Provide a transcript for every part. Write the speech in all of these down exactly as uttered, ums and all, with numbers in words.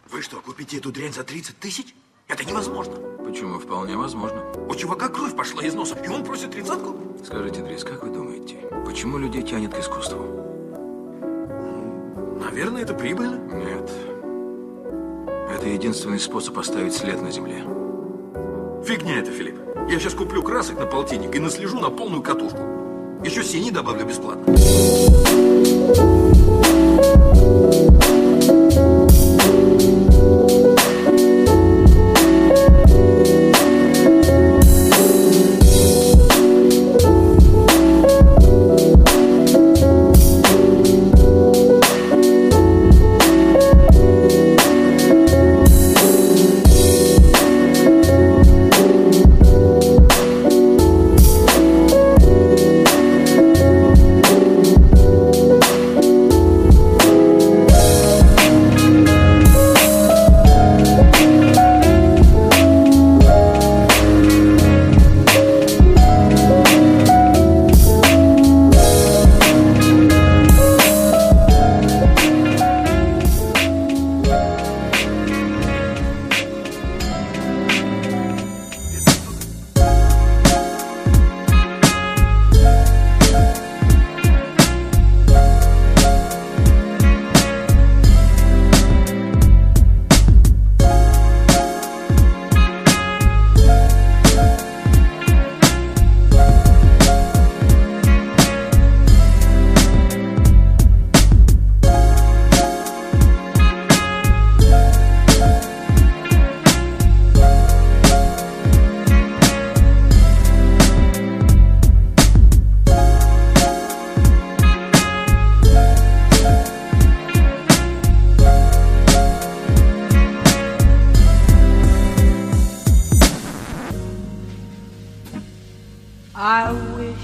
Вы что, купите эту дрянь за тридцать тысяч? Это невозможно. Почему? Вполне возможно. У чувака кровь пошла из носа, и он просит тридцатку? Скажите, Дрис, как вы думаете, почему людей тянет к искусству? Наверное, это прибыльно. Нет. Это единственный способ оставить след на земле. Фигня это, Филипп. Я сейчас куплю красок на полтинник и наслежу на полную катушку. Еще синий добавлю бесплатно. I wish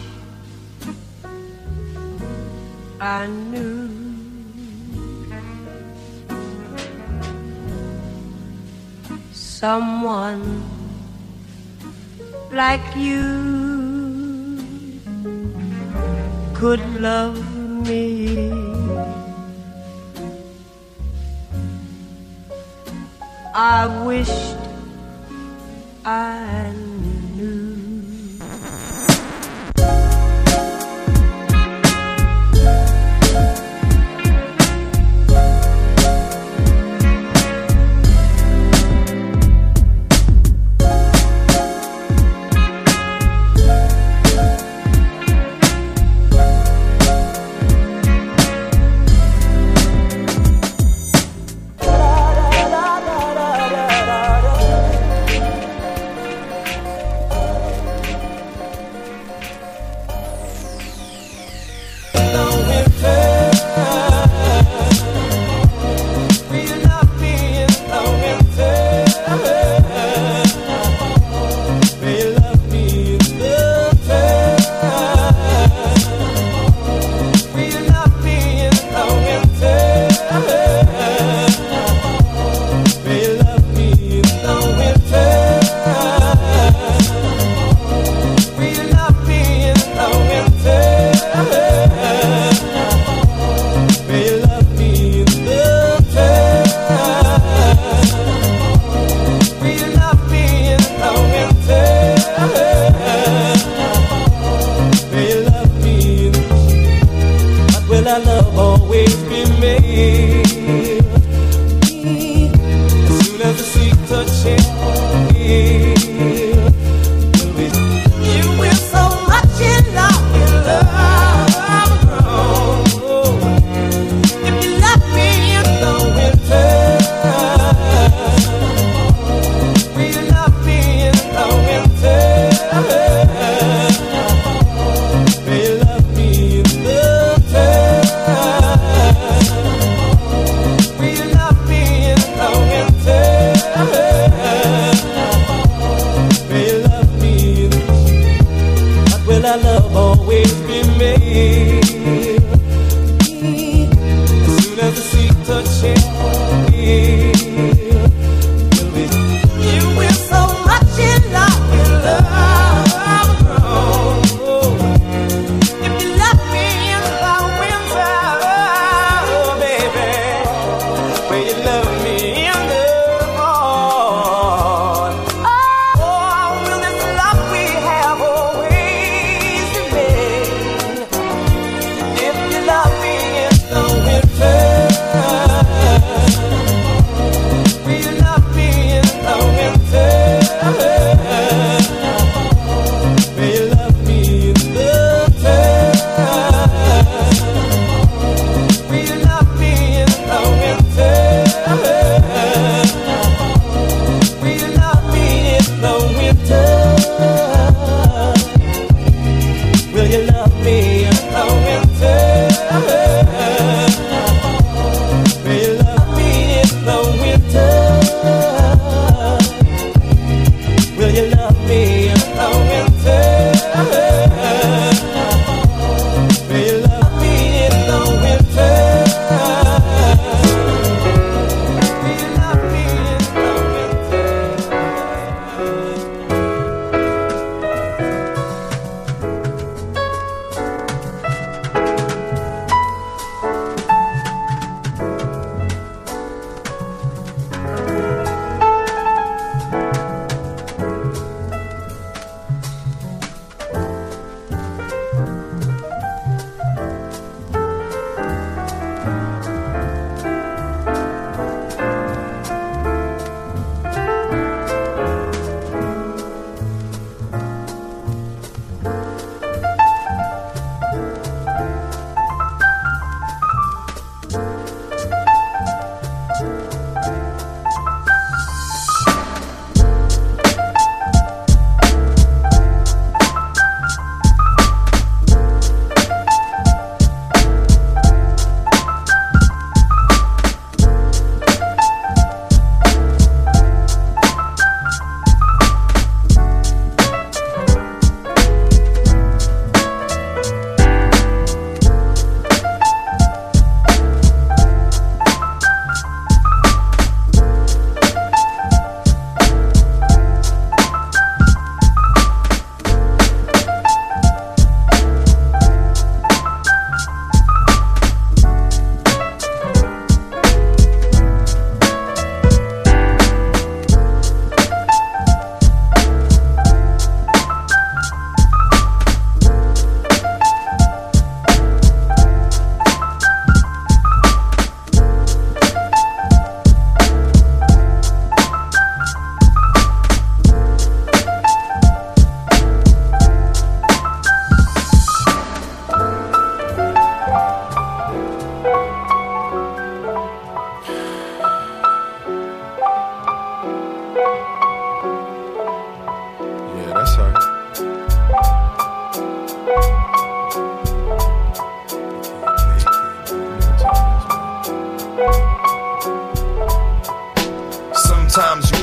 I knew someone like you could love me. I wished I knew. You love me.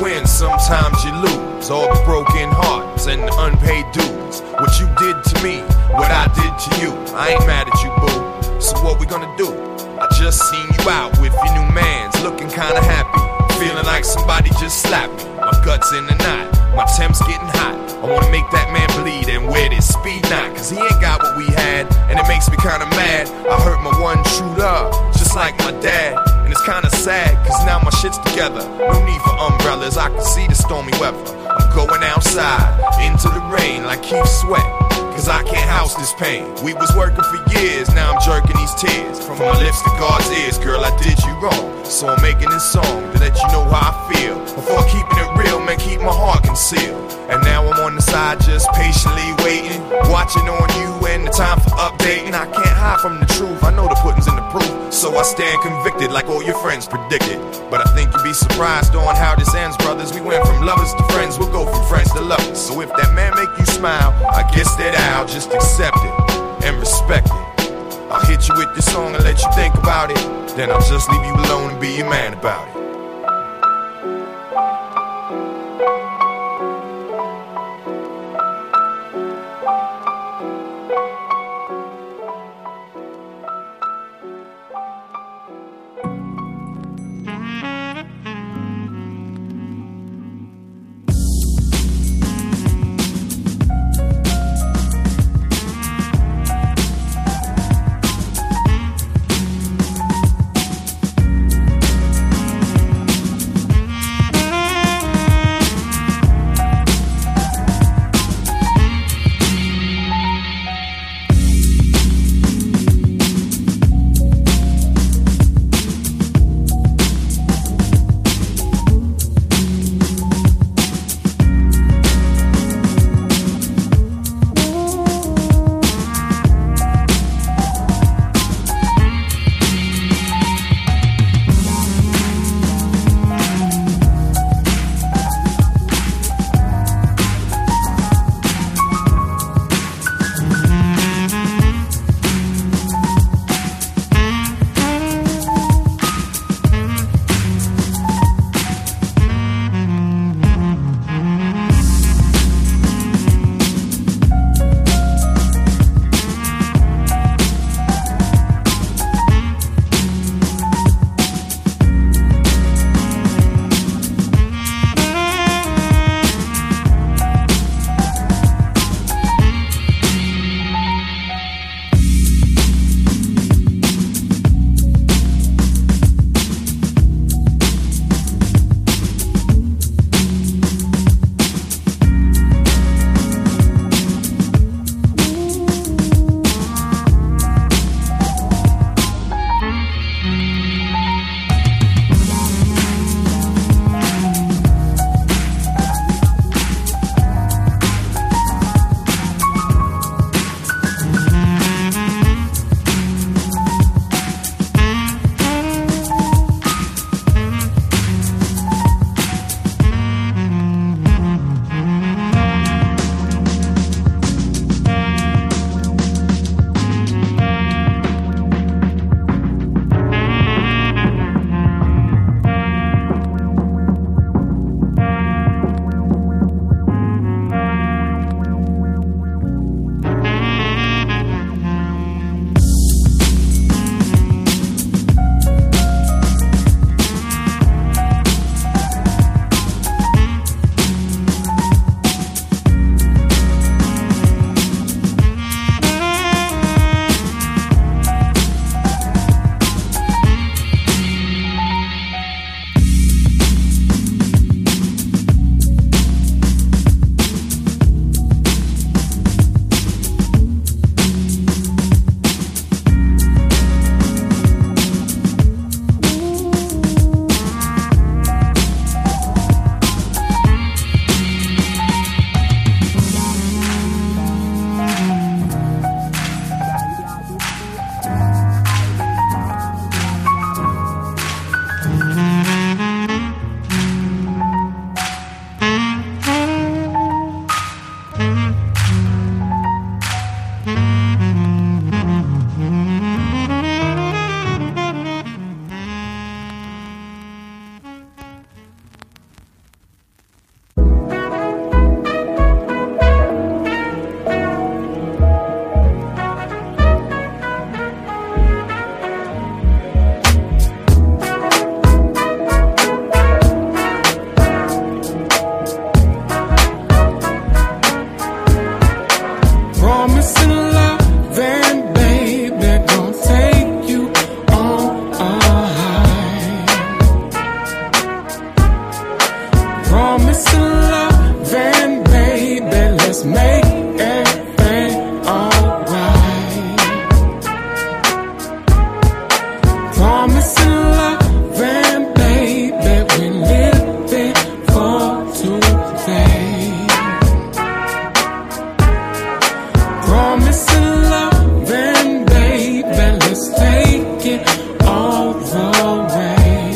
win, sometimes you lose. All the broken hearts and the unpaid dues. What you did to me, what I did to you. I ain't mad at you, boo. So what we gonna do? I just seen you out with your new mans, looking kinda happy. Feeling like somebody just slapped me. My guts in the knot, my temp's getting hot. I wanna make that man bleed and wear this speed knot. Cause he ain't got what we had, and it makes me kinda mad. I hurt my one true love, just like my dad. And it's kinda sad, cause now my shit's together. No need for umbrellas, I can see the stormy weather. I'm going outside, into the rain like Keith Sweat. Cause I can't house this pain. We was working for years, now I'm jerking these tears. From my lips to God's ears, girl, I did you wrong. So I'm making this song to let you know how I feel. Before keeping it real, man, keep my heart concealed. And now I'm on the side just patiently waiting, watching on you and the time for updating. I can't hide from the truth, I know the pudding's in the proof. So I stand convicted like all your friends predicted. But I think you'd be surprised on how this ends, brothers. We went from lovers to friends, we'll go from friends to lovers. So if that man make you smile, I guess that I'll just accept it and respect it. I'll hit you with this song and let you think about it. Then I'll just leave you alone and be your man about it. all the way.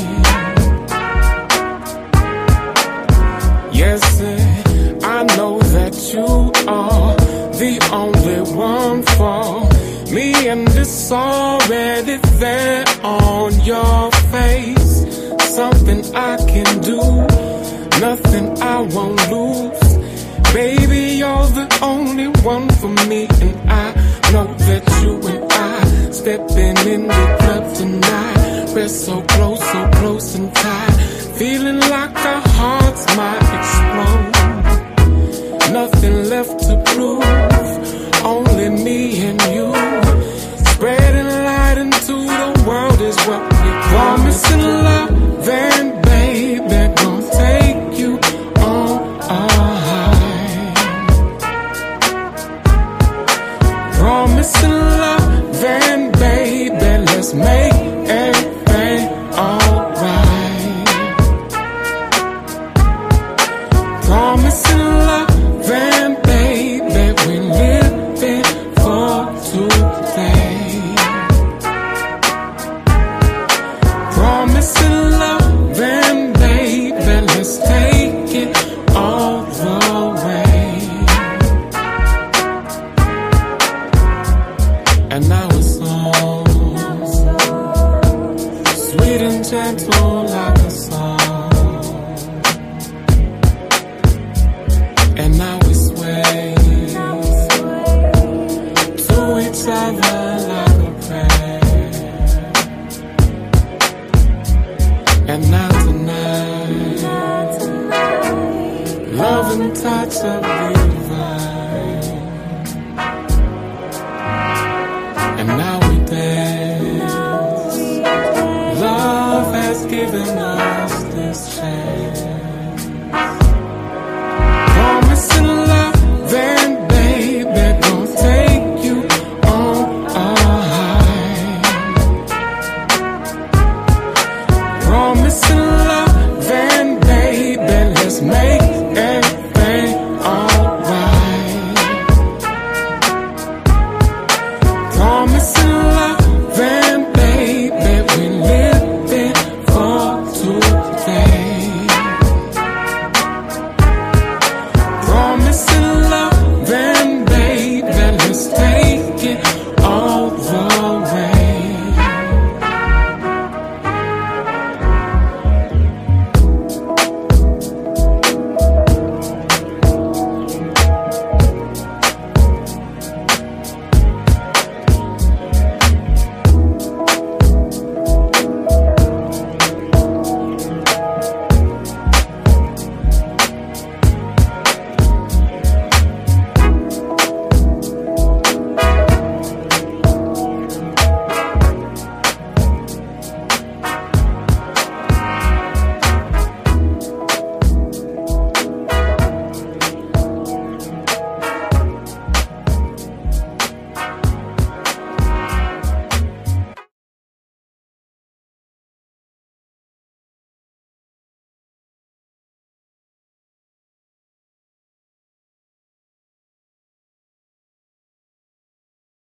Yes, sir, I know that you are the only one for me, and it's already there on your face. Something I can do, nothing I won't lose. Baby, you're the only one for me, and I know that you and I stepping in the club tonight. We're so close, so close and tight, feeling like our hearts might explode. Nothing left to prove, only me and you. Spreading light into the world is what we promising love, and baby, gonna take you on a high. Promising love, and baby, let's make everything alright. Promising love, and baby, we living for today. Promising love, and baby, let's take it all the way. And now it's on, sweet and gentle like a song. And now we sway to each other like a prayer. And now tonight, love and touch of the divine. And now we dance. Love has given us this chance.